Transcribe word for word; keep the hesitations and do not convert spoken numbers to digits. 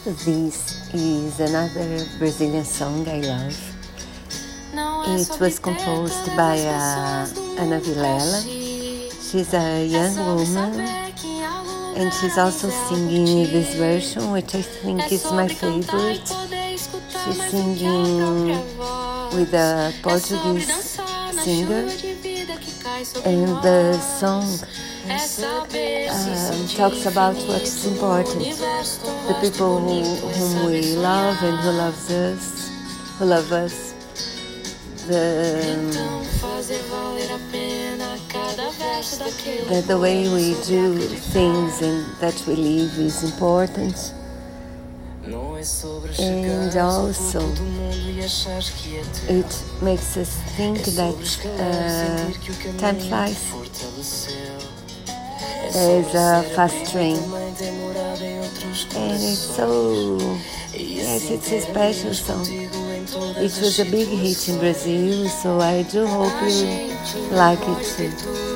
This is another Brazilian song I love. It was composed by uh, Ana Vilela. She's a young woman and she's also singing this version, which I think is my favorite. She's singing with a Portuguese singer, and the song um, talks about what's important, the people who, whom we love and who loves us, who love us. The, that the way we do things and that we live is important. And also it makes us think that uh, time flies as a fast train, and it's so, yes, it's a special song. It was a big hit in Brazil, so I do hope you like it too.